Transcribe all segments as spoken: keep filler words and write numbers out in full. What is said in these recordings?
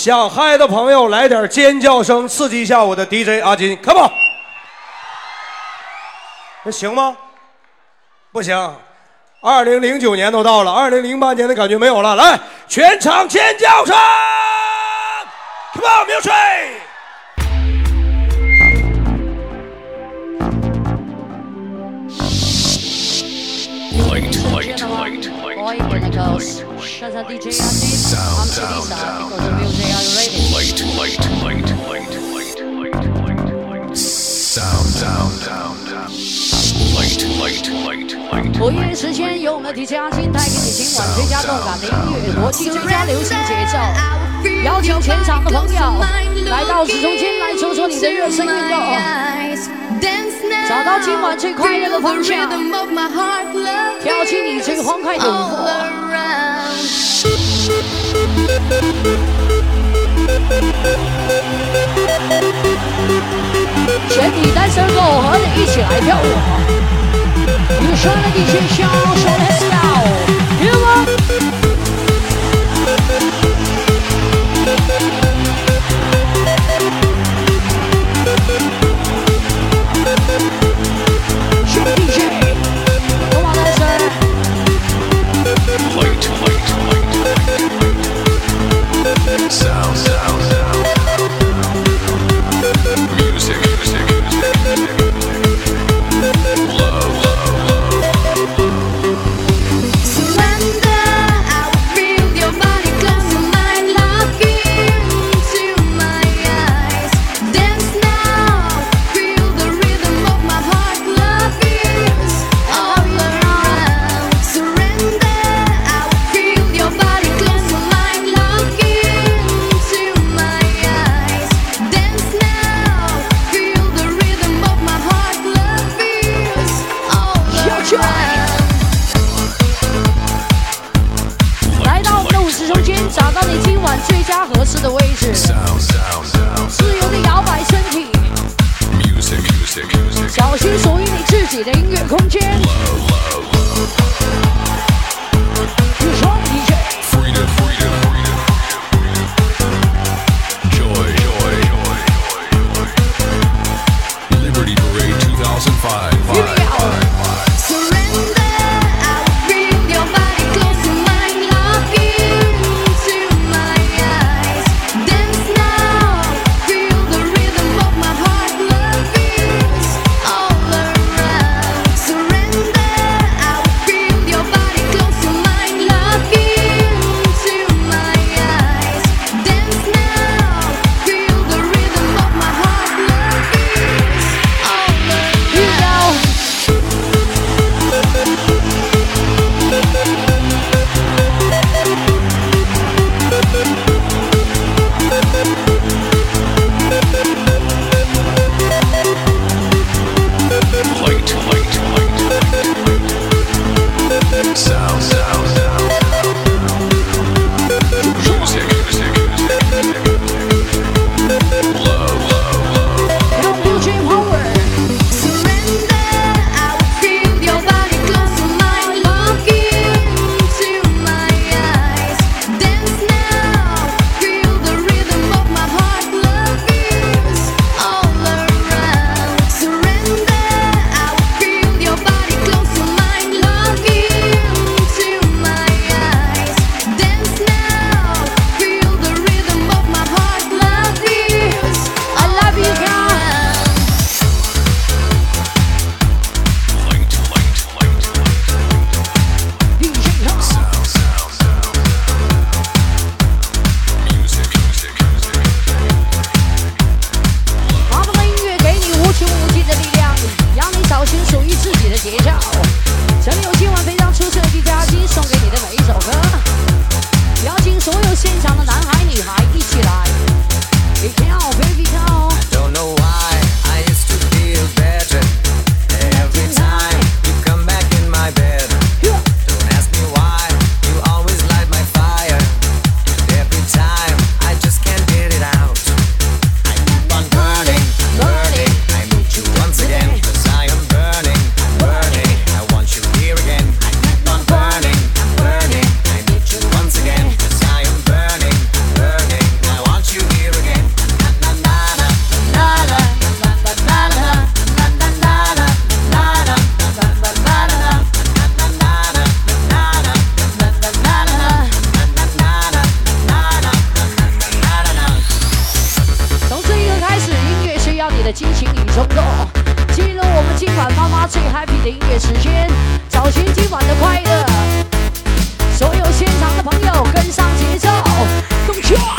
想嗨的朋友来点尖叫声，刺激一下我的 D J 阿金 ，Come on！ 那行吗？不行。二零零九年都到了，二零零八年的感觉没有了。来，全场尖叫声 ！Come on， music！ Light, light, light, light, light, light. Shut up, D J Ajin. I'm Teresa. Because of music, are you ready? Light, light, light, light, light, light, light, light. Sound, sound, sound, sound. Light, light, light, light. 播音时间用了 D J Ajin 带给你今晚最佳动感的音乐，国际最佳流行节奏。邀请全场的朋友来到直中间来做做你的热身运动。找到今晚最快乐的方向，跳起你最欢快的舞步。全体单身狗和你一起来跳舞。你说的你先笑，说 Let's go，Come on。D J， come on， dancer。 Light, light, light, light. Sound, sound, sound. Music, music, music. Love, love, love. Surrender, I will feel your body close to mine, look into my eyes. Dance now, feel the rhythm of my heart, love is all around. Surrender, I will feel your body close to mine, look into my eyes. Dance now, feel the rhythm of my heart, love is all around. 来到我们的舞池中间，找到你今晚最佳合适的位置， Sound, sound, sound. 自由的摇摆身体， Music, music, music. 找寻属于你自己的音乐空间。 Love, love, love. 你说 D J。 Freedom, freedom, freedom. Joy, joy, joy, joy, joy. Liberty Parade two thousand five. Here we go. Surrender, I will feel your body close to mine, look into my eyes. 的激情与冲动。进入我们今晚妈妈最 happy 的音乐时间，找寻今晚的快乐。所有现场的朋友跟上节奏，动起来！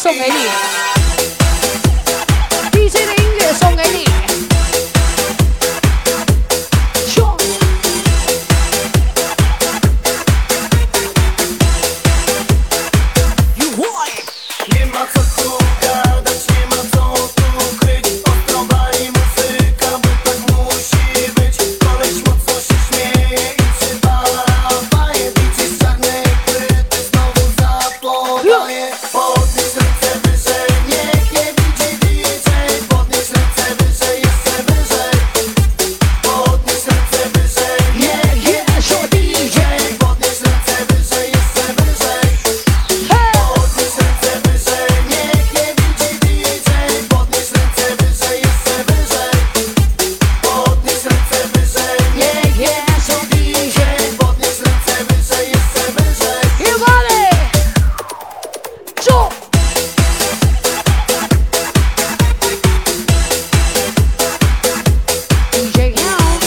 送给你 ，D J 的音乐送给你。说。You want？ Nie ma co tu gadać, nie ma co tu kryć. Ostrowali muzyka, bo tak musi być. Koleś mocno się śmieje i przywala faję. Bicie z czarnej płyty znowu zapodaje. Podnieś ręce wyżej, niech nie widzi D J. Podnieś ręce wyżej, jeszcze wyżej. Podnieś ręce wyżej, niech nie widzi D J. Podnieś ręce wyżej, jeszcze wyżej. Podnieś ręce wyżej, niech nie widzi D J. Podnieś ręce wyżej, jeszcze wyżej. Podnieś ręce wyżej, niech nie widzi D J. Podnieś ręce wyżej, jeszcze wyżej. You got it! Zo! D J Young.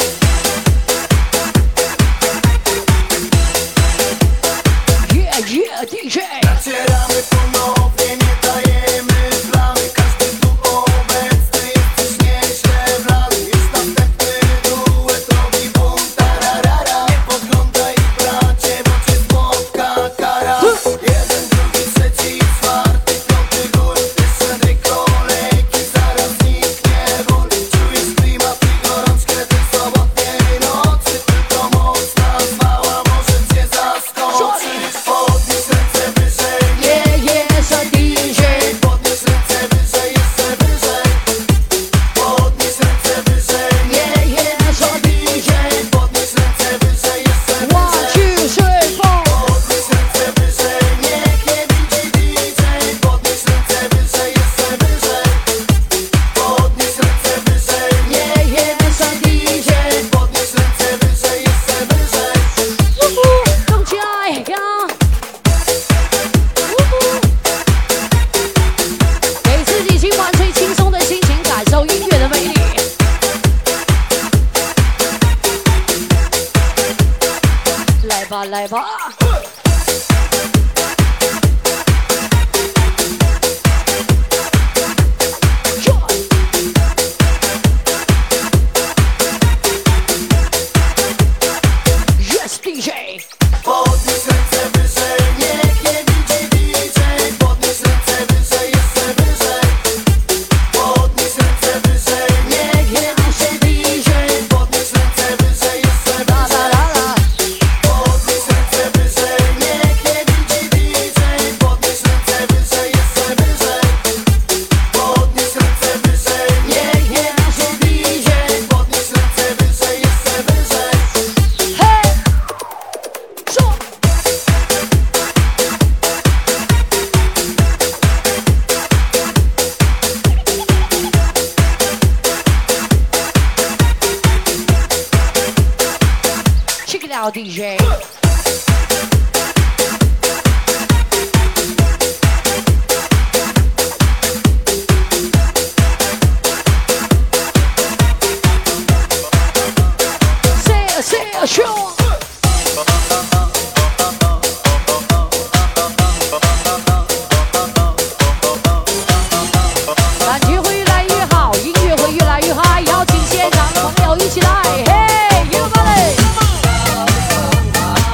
Yeah, yeah, D J. Nacieramy ponownie, nie dajemy plamy. Każdy tu obecny jest coś nieźle wlany. Już następny duet robi bum, tararara. Nie podglądaj bracie, bo cię spotka kara. Jeden, drugi, trzeci, czwarty, piąty gór. Jeszcze dwie kolejki, zaraz zniknie ból. Czujesz klimat i gorączkę tej sobotniej nocy. Tylko mocna zwała może cię zaskoczyć. Podnieś ręce wyżej, Yeah, yeah, so D J. podnieś ręce wyżej, jeszcze wyżej. Podnieś ręce wyżej, Yeah, yeah, so D J. podnieś ręce wyżej, jeszcze One, wyżej. two, three, four. Podnieś ręce wyżej, niech nie widzi D J. Podnieś ręce wyżej, jeszcze wyżej. Podnieś ręce wyżej, Yeah, yeah, so D J. podnieś ręce wyżej, jeszcze wyżej. 呜呼，动起来呀！呜呼，给自己今晚最轻松的心情，感受音乐的魅力。来吧，来吧。Yes, D J。 Podnieś ręce wyżej, niech nie widzi D J. Podnieś ręce wyżej, jeszcze wyżej. Podnieś ręce wyżej, niech nie widzi D J. Podnieś ręce wyżej, jeszcze La la wyżej. la la. Podnieś ręce wyżej, niech nie widzi D J. Podnieś ręce wyżej, jeszcze wyżej. Podnieś ręce wyżej, niech nie widzi D J. Podnieś ręce wyżej, jeszcze wyżej. Hey，说。 Check it out, D J. Say it, say it, sure. 感觉会越来越好，音乐会越来越嗨，邀请现场的朋友一起来，嘿，you got it。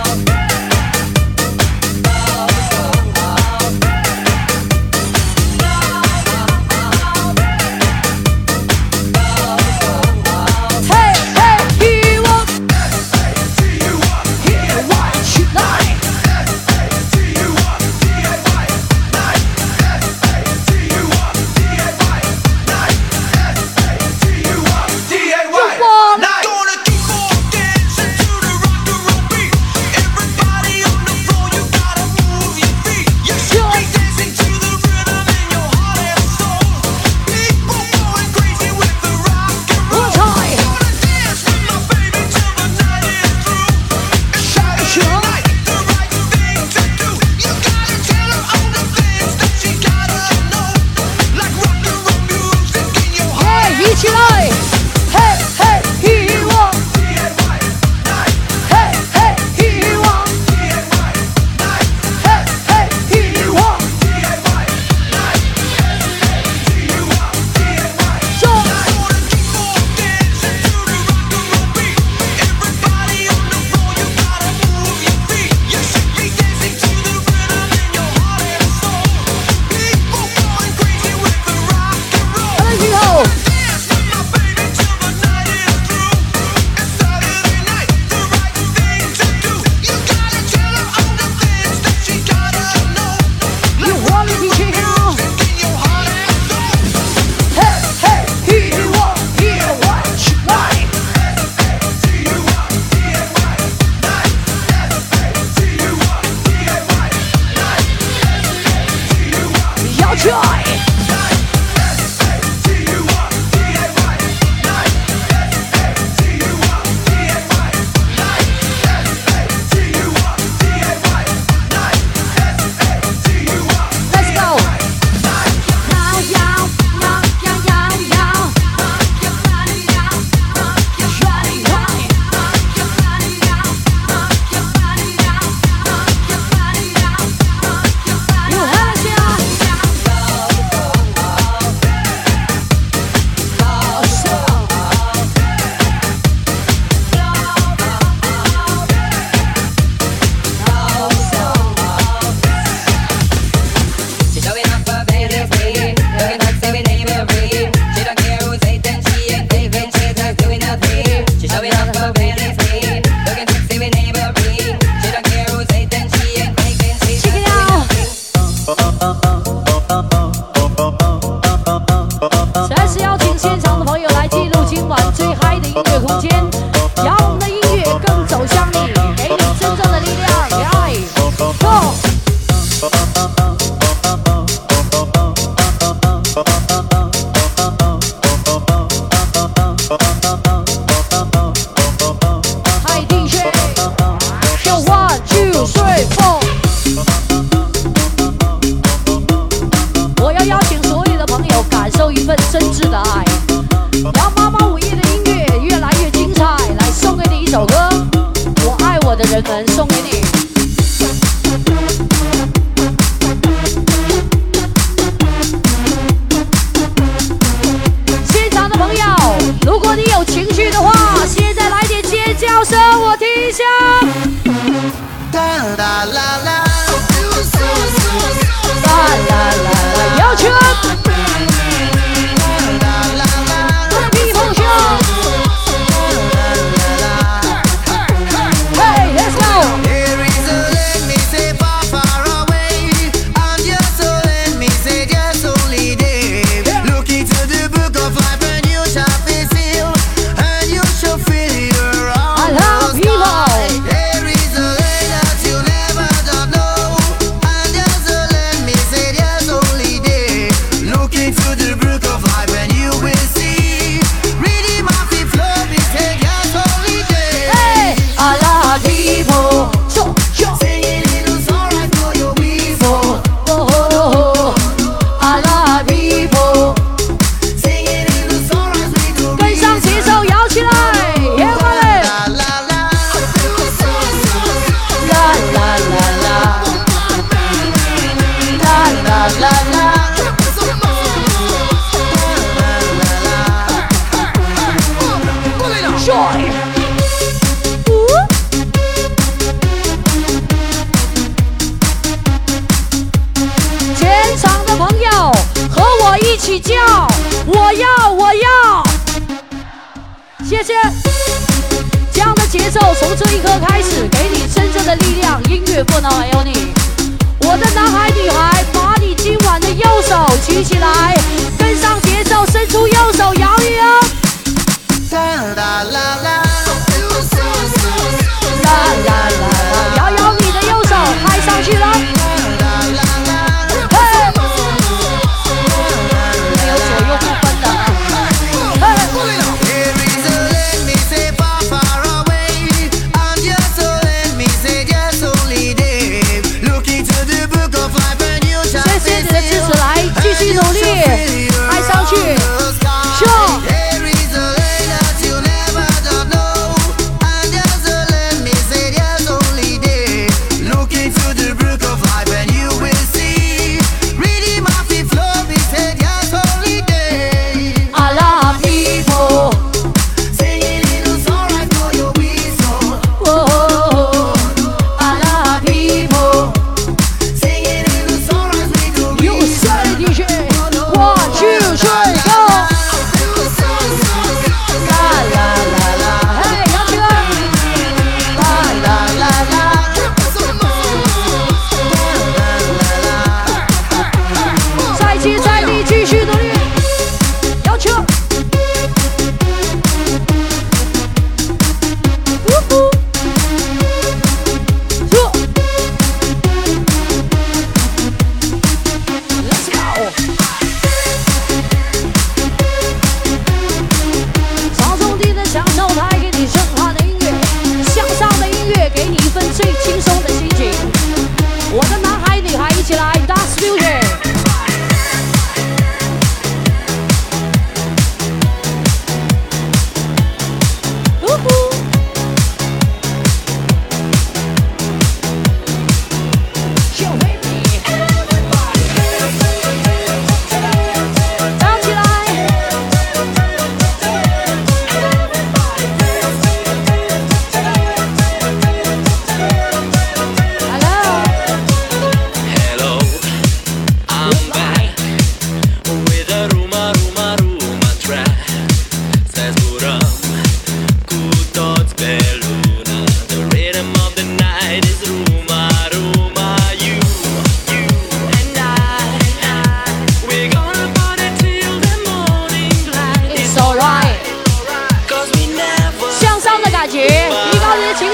去。谢谢，这样的节奏从这一刻开始，给你真正的力量。音乐不能没有你，我的男孩女孩，把你今晚的右手举起来，跟上节奏，伸出右手摇一摇。啦啦啦，摇摇你的右手，嗨上去了。没有左右不分的。谢谢你的支持，来继续努力，嗨上去，秀。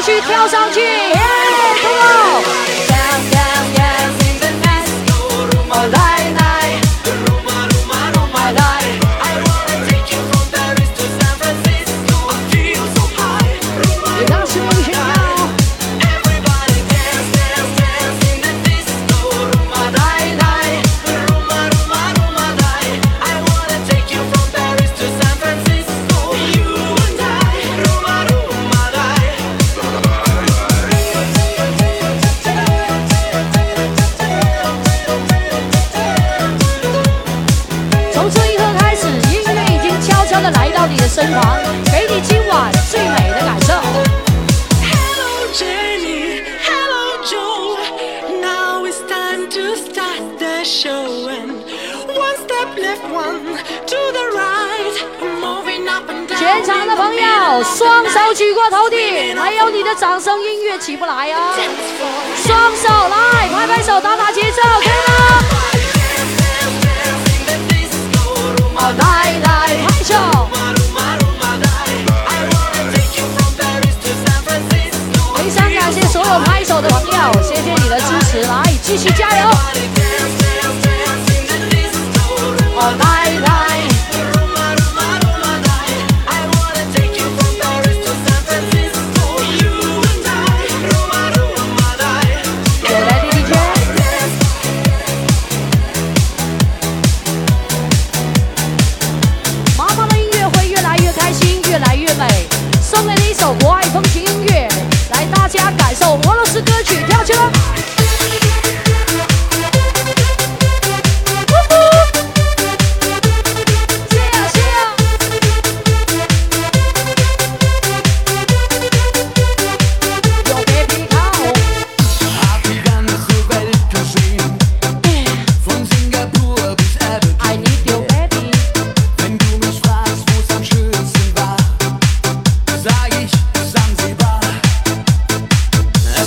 续跳上去，耶 ，Come on！ Dance, dance, dance in the night. All night, night. All night. I wanna take you from Paris to San Francisco. I feel so high. 你当时有想要 Everybody dance, dance, dance in the disco. All night, night. I wanna take you from Paris to San Francisco. You and I. night. 从这一刻开始，音乐已经悄悄地来到你的身旁，给你今晚最美的感受。 Hello Jenny, hello Joe. Now it's time to start the show. And one step left, one to the right. Moving up and down. 全场的朋友，双手举过头顶，还有你的掌声，音乐起不来哦。双手来，拍拍手，打打节奏，可以吗？哦，来来，拍手。 非常感谢所有拍手的朋友，谢谢你的支持，来继续加油！哦，来来，有 Ready D J。妈妈的音乐会越来越开心，越来越美。送给你一首国外风情音乐，来大家感受俄罗斯歌曲，跳起来！ Sag ich, Sansibar.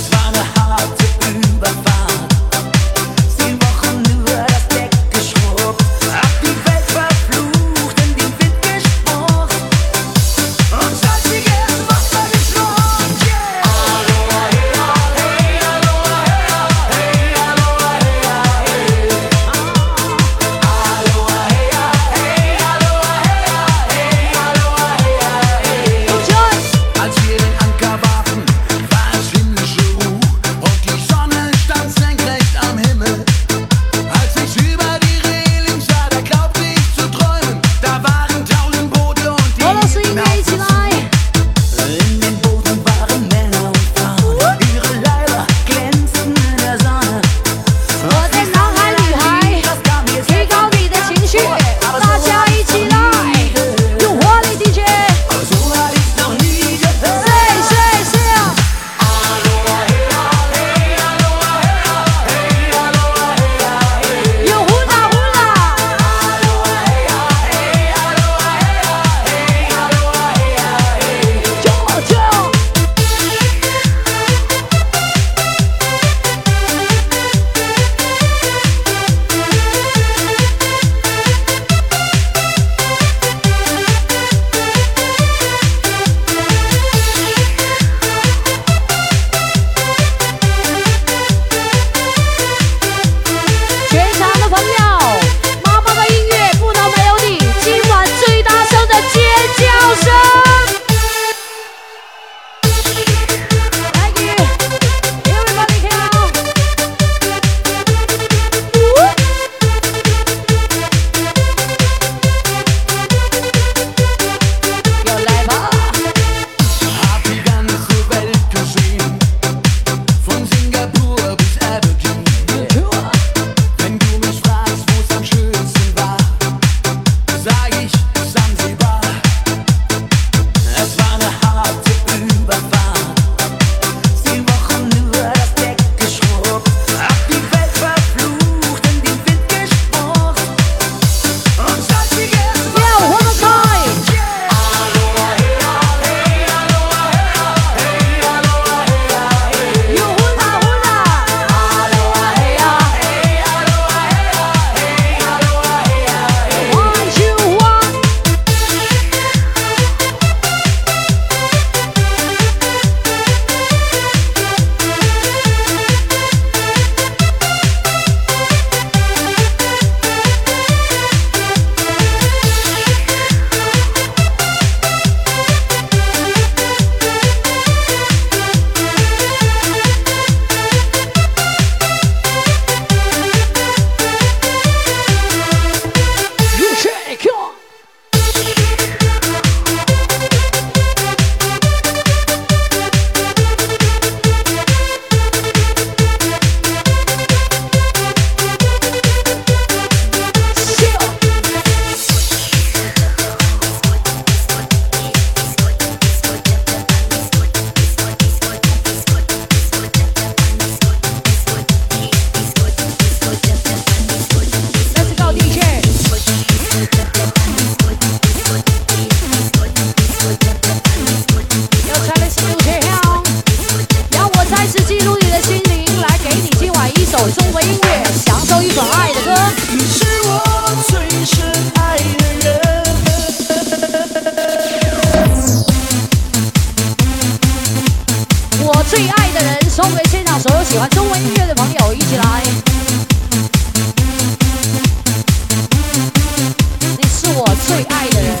最爱的人。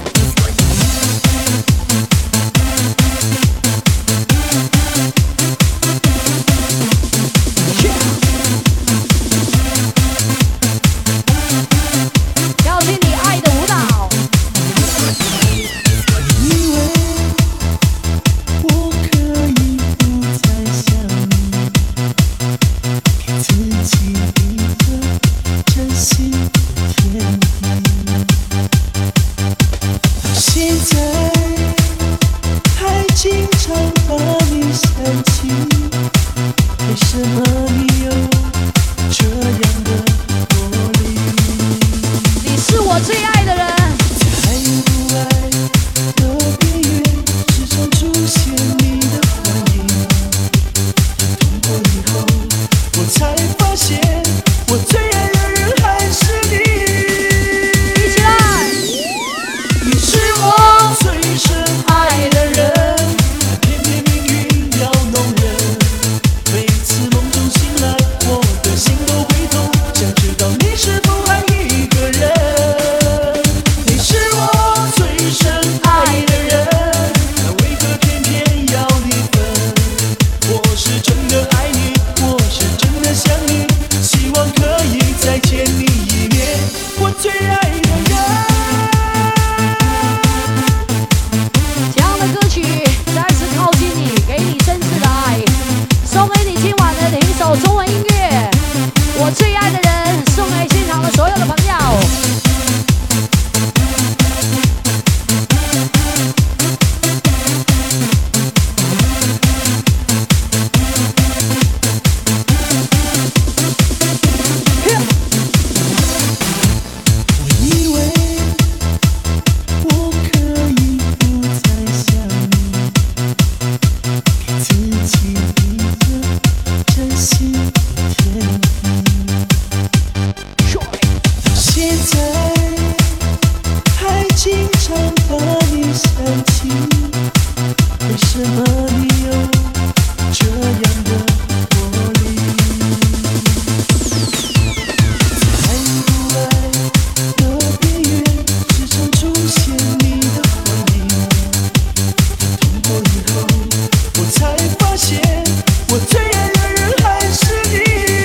跳起你爱的舞蹈。 以为我可以不再想你，给自己一个真心的天地。到现在还经常把你想起，为什么你有这样的魔力？ 你是我最爱的人。 在不爱的边缘，时常出现你的幻影。痛过以后，我才发现，我最爱的人还是你。 一起来！ 你是我最深爱的人，偏偏命运要弄人。每次梦中醒来，我的心都会痛，想知道你是否还一个人。你是我最深爱的人，但为何偏偏要你分？我是真的爱你，我是真的想你，希望可以再见你一面，我最爱的人。 这样的歌曲再次靠近你，给你真挚的爱，送给你今晚的一首中文音乐。我最爱的人，送给现场的所有的朋友。 我以为我可以不再想你，给自己一个真心的天地。到现在还经常把你想起，为什么你有这样的魔力？在不爱的边缘，时常出现你的幻影。痛过以后，我才发现，我最爱的人还是你。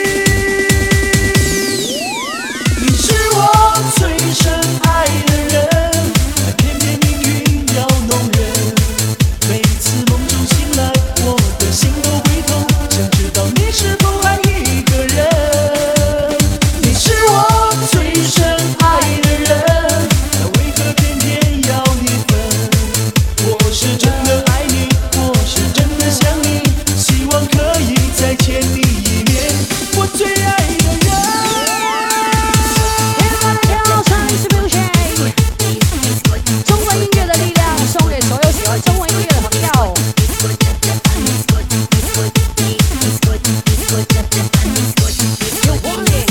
你是我最深爱的人，但偏偏命运要弄人。每次梦中醒来，我的心都会痛，想知道你是否还一个人。你是我最深爱的人，但为何偏偏要你分？我是真的爱你，我是真的想你，希望可以再见你一面，我最爱的人。 中文音乐的力量，送给所有喜欢中文音乐的朋友。有活力。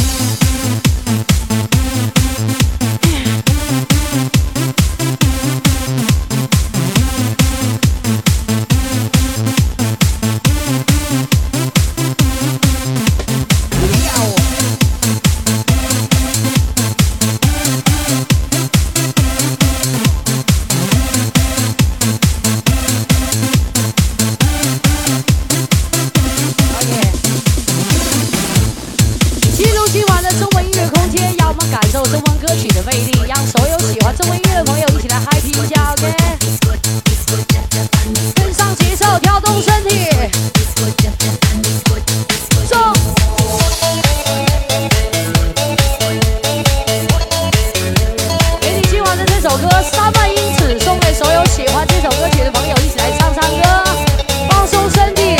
进入今晚的中文音乐空间，让我们感受中文歌曲的魅力，让所有喜欢中文音乐的朋友一起来 happy 一下 ，OK？ 跟上节奏，跳动身体，走！给你今晚的这首歌《三万英尺》，送给所有喜欢这首歌曲的朋友，一起来唱唱歌，放松身体。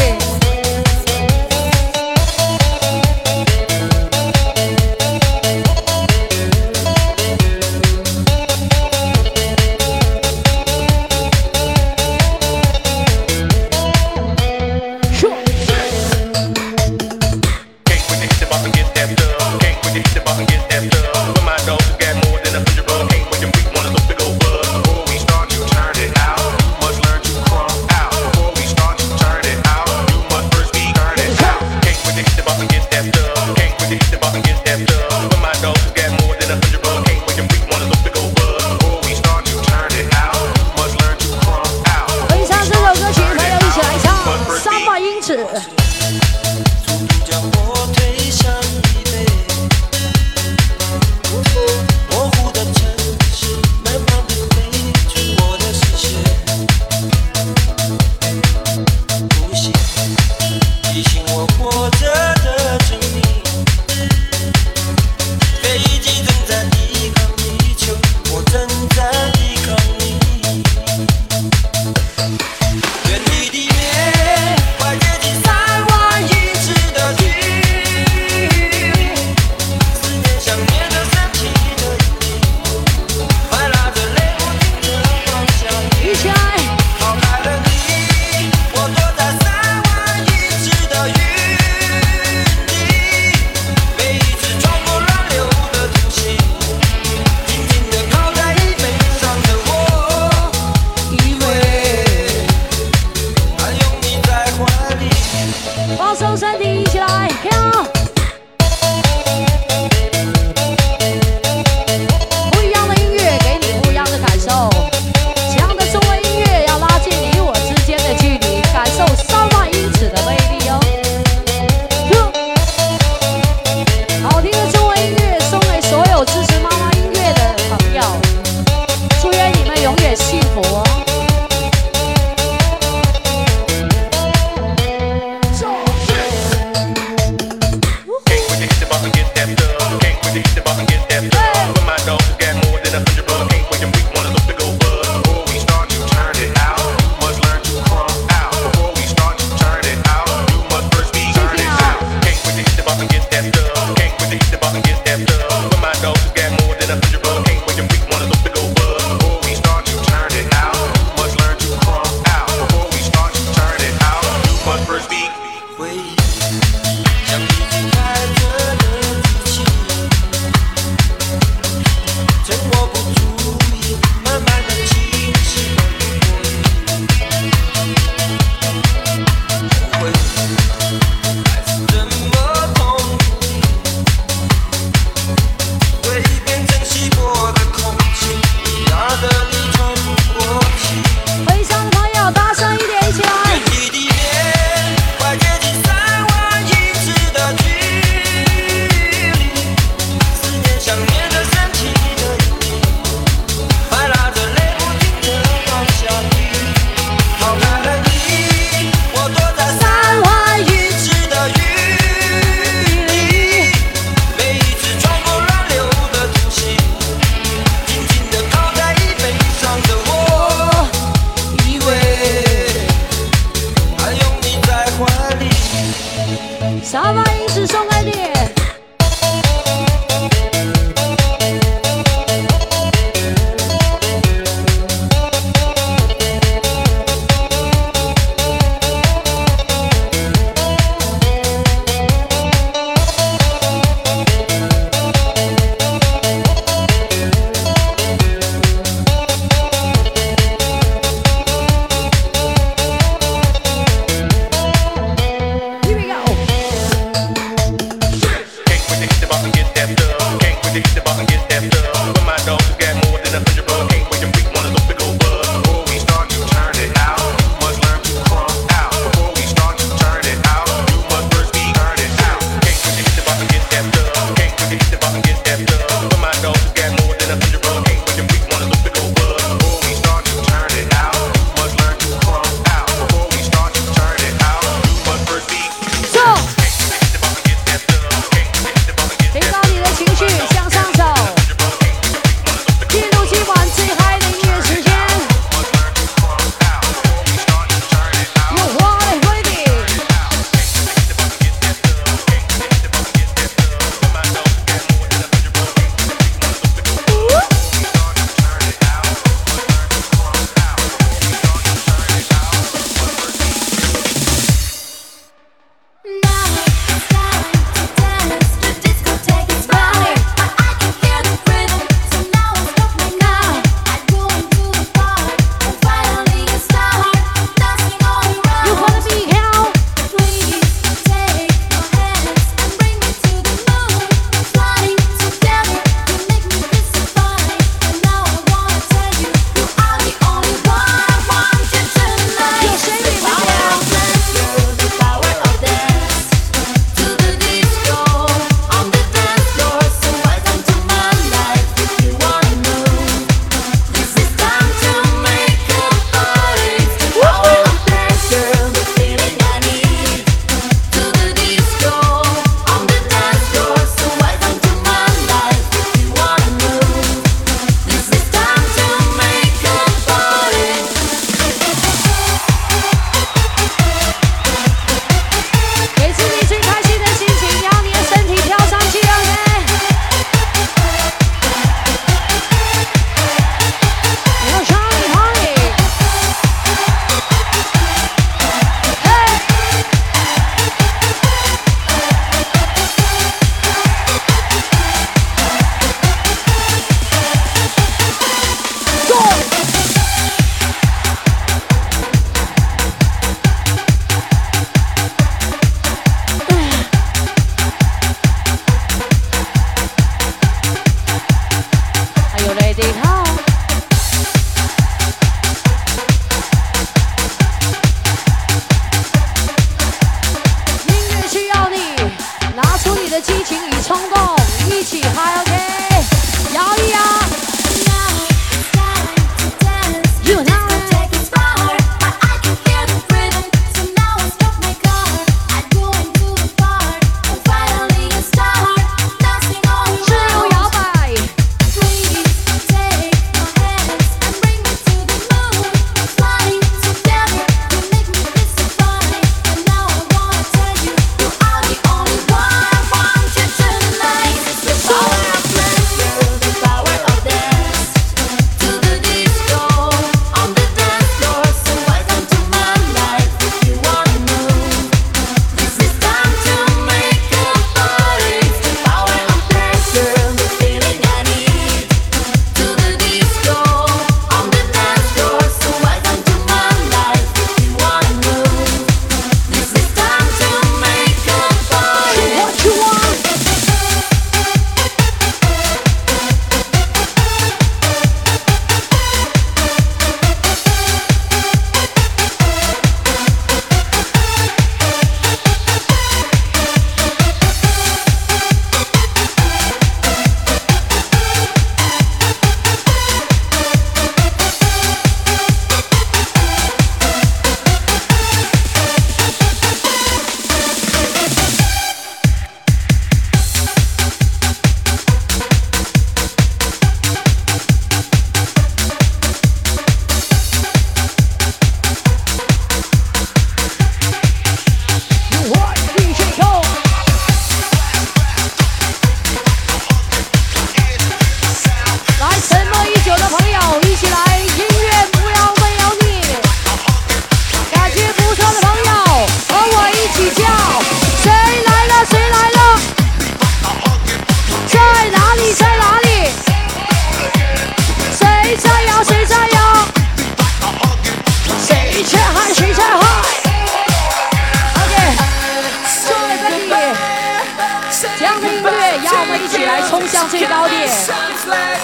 Take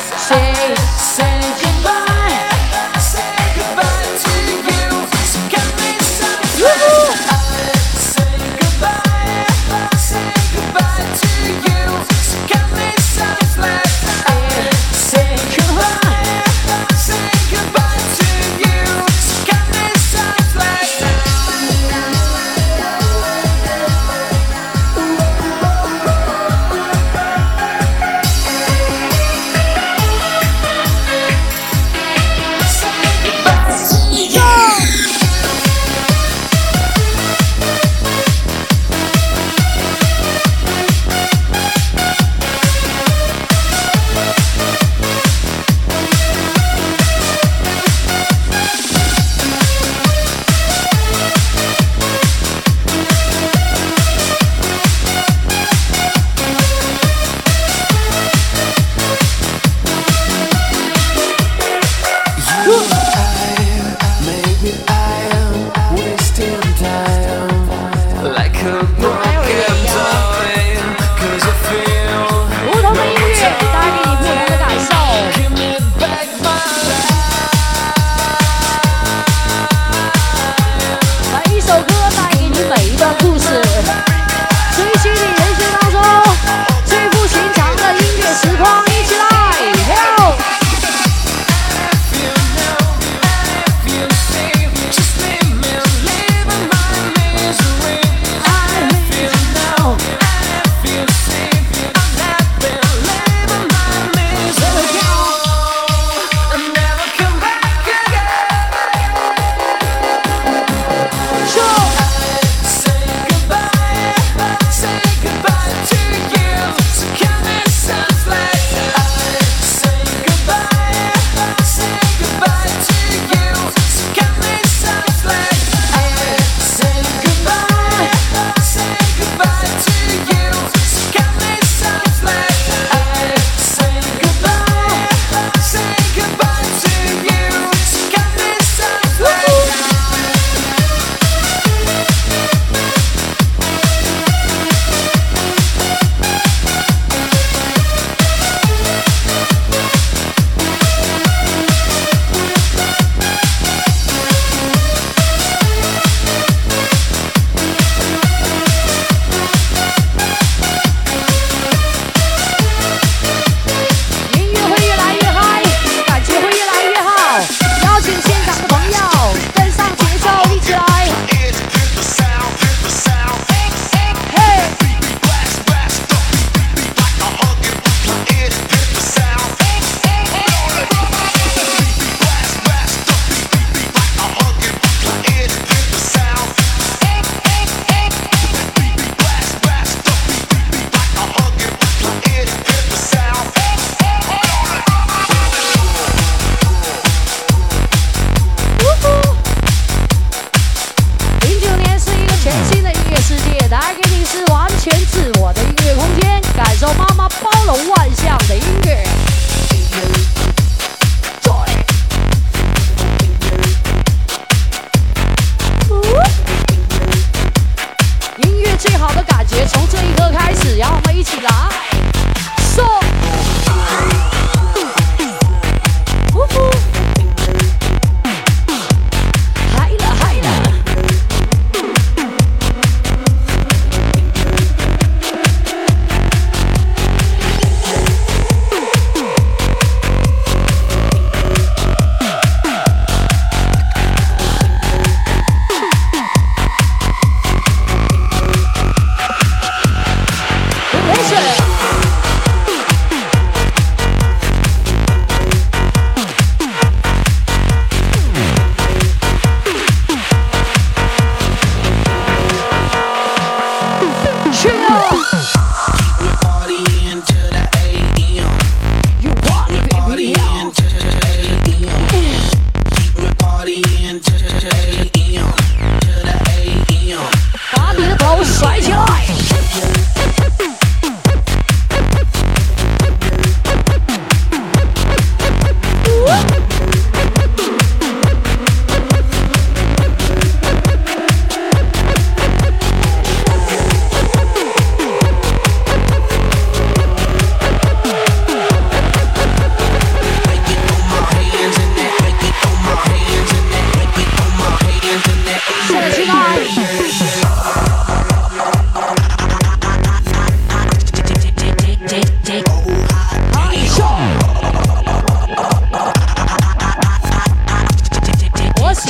Say, say goodbye. Say goodbye to you. So cut me softly. Say goodbye. Say goodbye to you. So cut me softly. Say goodbye. Say goodbye to you. So cut me softly.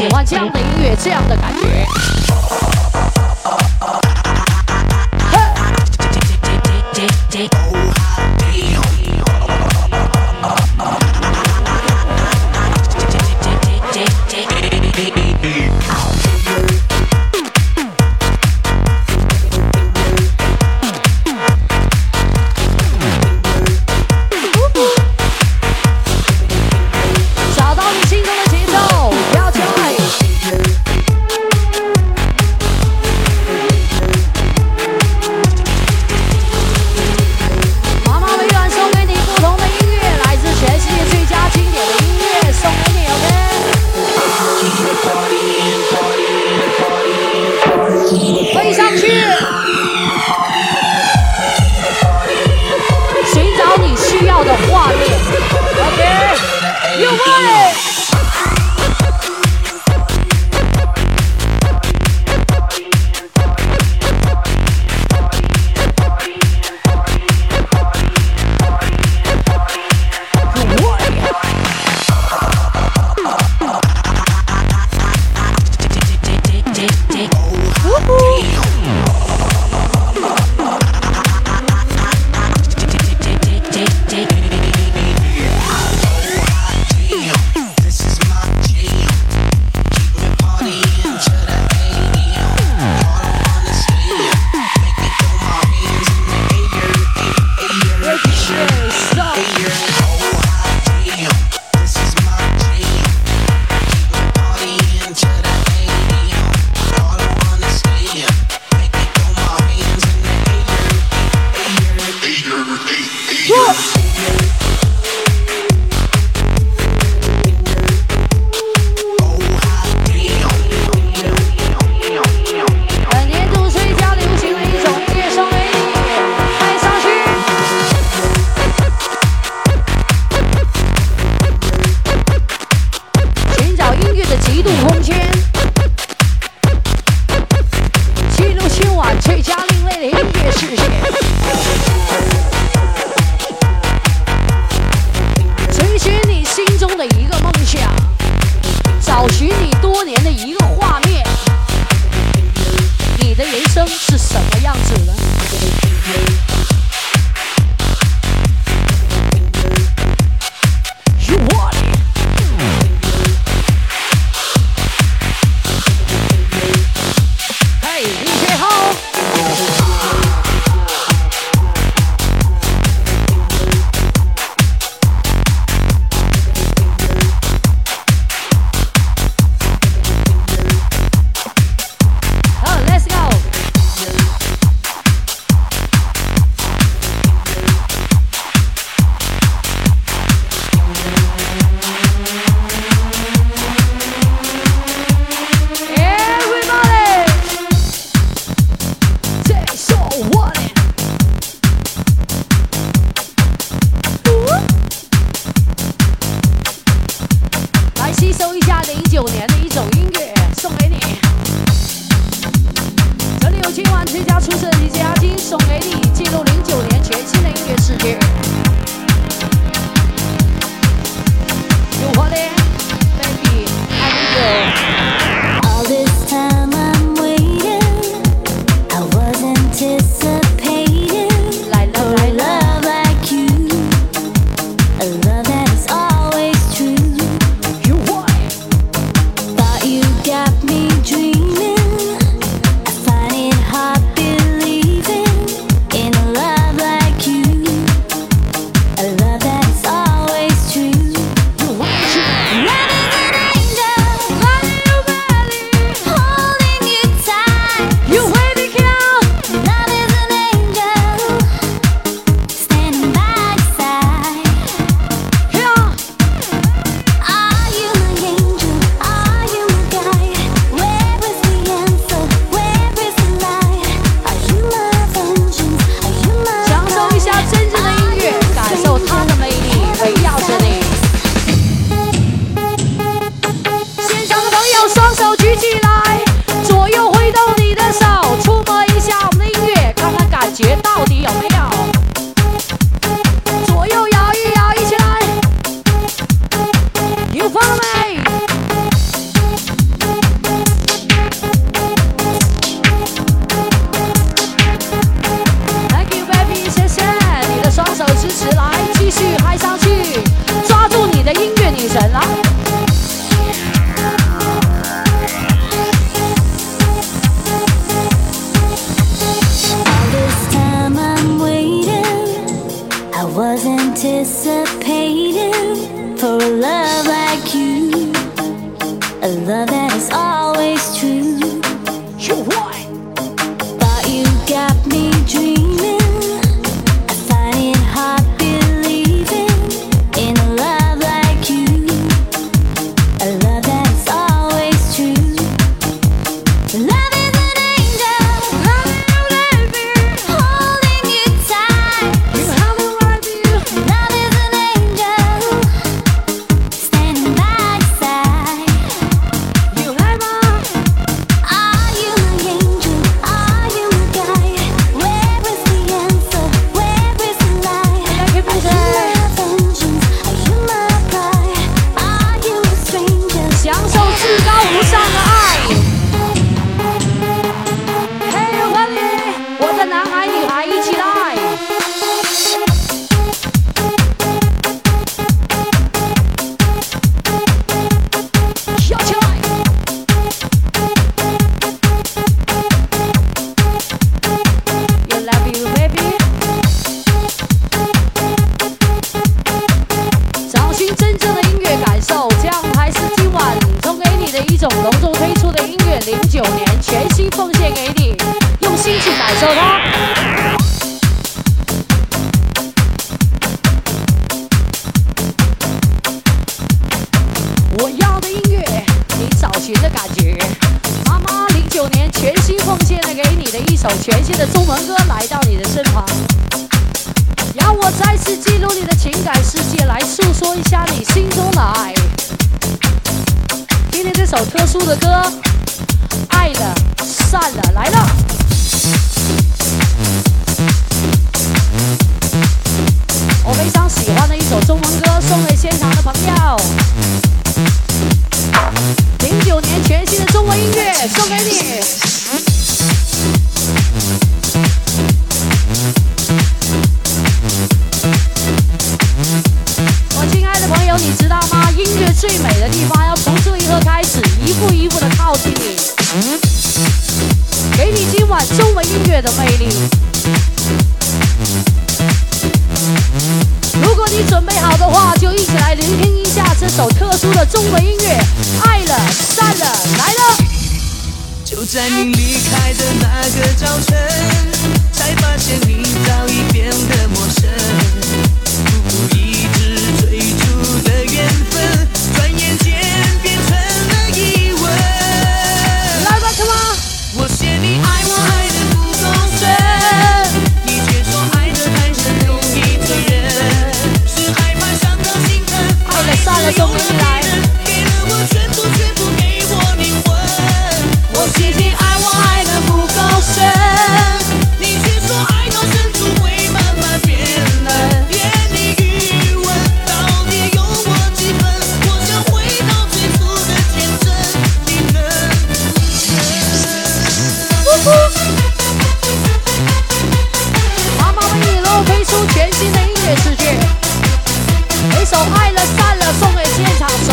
喜欢这样的音乐，这样的感觉。找到你心中的节奏，要起来。妈妈微软送给你不同的音乐，来自全世界最佳经典的音乐，送给你 ，OK？ 飞上去，寻找你需要的画面 ，OK？ 有没？本年度最佳流行的一种音乐送给你，带上去。寻找音乐的极度空间，记录今晚最佳另类的音乐世界。追寻你心中的一个梦想，找寻你多年的一个画面。你的人生是什么样子呢？You want it？ 嘿，李学浩。好 ，Let's go。Everybody， take so what it。来吸收一下零九年的一种音乐，送给你。这里有今晚最佳出色的 D J 阿金，送给你，记录零九年全新的音乐世界。You want it, baby? I need you. All this time I'm waiting, I was anticipating 来了 for 来 a 了， love like you, a love that is always true. You want it? Thought you got me dreaming. I find it hard believing in a love like you. for a love like you, a love that is always true. But you got me dreaming. I find it hard believing in a love like you, a love that is always true. Love is an angel, holding you tight. Love is an angel, standing by your side. Are you my angel? Are you my guide? Where is the answer? Where is the light? Are you my vengeance? Are you my pride? Are you a stranger? 享受至高无上的爱。嘿，我和你，我的男孩女孩一起来。跳起来！ You love you, baby。找寻真正的音乐感受，这样还是今晚送给你的一种隆重推出的音乐，零九年全新奉献给你，用心去感受它。我要的音乐，你找寻的感觉。妈妈零九年全新奉献了给你的一首全新的中文歌，来到你的身旁。让我再次进入你的情感世界，来诉说一下你心中的爱。今天这首特殊的歌，爱了散了，来了。我非常喜欢的一首中文歌，送给现场的朋友。零九年全新的中文音乐，送给你。我亲爱的朋友，你知道吗？音乐最美的地方要从这一刻开始，一步一步的靠近你，给你今晚中文音乐的魅力。如果你准备好的话，就一起来聆听一下这首特殊的中文音乐，爱了散了，来了。 就在你离开的那个早晨，才发现你早已变得陌生。一直最初的缘分，转眼间变成了疑问。 来吧，come on！ 我嫌你爱我爱得不够深，你却说爱得太深容易醉人，是害怕伤到心疼， 爱了散了，送给你来。 给了我全部，却不给我灵魂。我嫌你爱我爱得不够深，你却说爱到深处会慢慢变冷。连你余温到底有我几分？我想回到最初的天真，你能不能？ 妈妈为你推出全新的音乐世界，一首《爱了散了》送给现场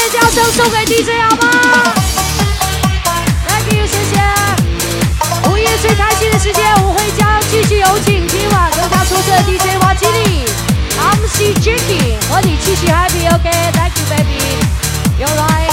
的叫声送给 D J 好吗 ？Thank you， 谢谢。午夜最开心的时间，我会将继续有请今晚更加出色的 D J 瓦基里、M C Jackie 和你继续 happy，OK？Thank you，baby。有来。